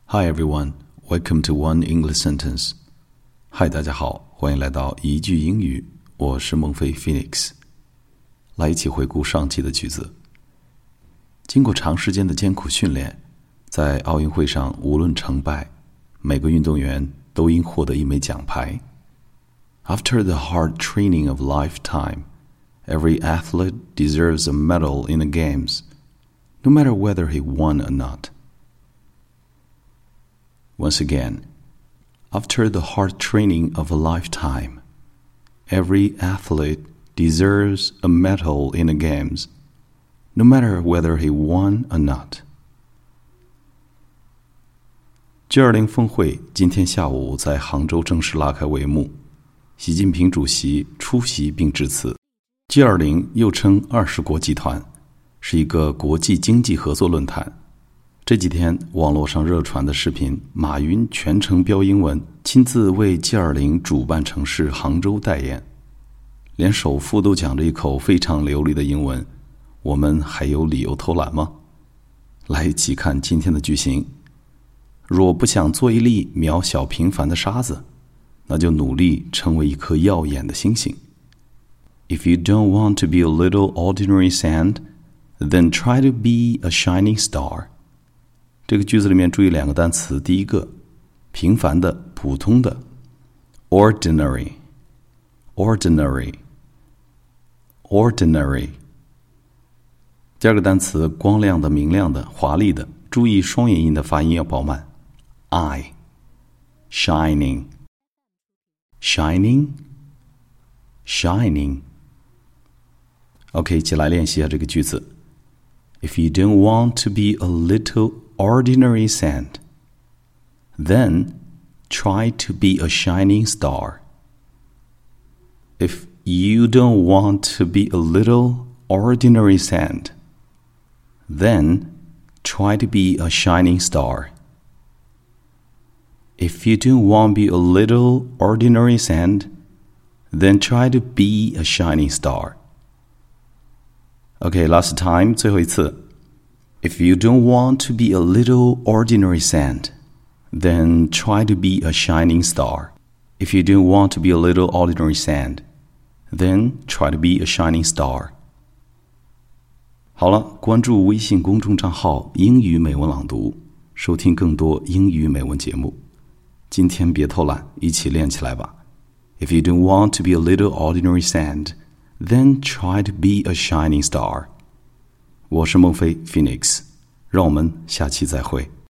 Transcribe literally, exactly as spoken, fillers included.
Hi everyone, welcome to One English Sentence. Hi 大家好，欢迎来到一句英语，我是孟非 Phoenix。来一起回顾上期的句子。经过长时间的艰苦训练，在奥运会上无论成败，每个运动员都应获得一枚奖牌。After the hard training of a lifetime, every athlete deserves a medal in the games, no matter whether he won or not.Once again, after the hard training of a lifetime, every athlete deserves a medal in the games, no matter whether he won or not. G 二零 峰会今天下午在杭州正式拉开帷幕，习近平主席出席并致辞。G 二零 又称二十国集团，是一个国际经济合作论坛。这几天网络上热传的视频，马云全程标英文，亲自为 G 二零 主办城市杭州代言，连首富都讲着一口非常流利的英文，我们还有理由偷懒吗？来一起看今天的句型。若不想做一粒渺小平凡的沙子，那就努力成为一颗耀眼的星星。If you don't want to be a little ordinary sand, then try to be a shining star.这个句子里面注意两个单词，第一个平凡的普通的 ordinary ordinary ordinary 第二个单词光亮的明亮的华丽的，注意双元音的发音要饱满 I shining shining shining OK 一起来练习一下这个句子。 If you don't want to be a little ordinary sand, then try to be a shining star. If you don't want to be a little ordinary sand, then try to be a shining star. If you don't want to be a little ordinary sand, then try to be a shining star. Okay, last time, 最后一次。If you don't want to be a little ordinary sand, then try to be a shining star. If you don't want to be a little ordinary sand, then try to be a shining star. 好了，关注微信公众账号英语美文朗读，收听更多英语美文节目。今天别偷懒，一起练起来吧。If you don't want to be a little ordinary sand, then try to be a shining star. 我是孟非 Phoenix， 让我们下期再会。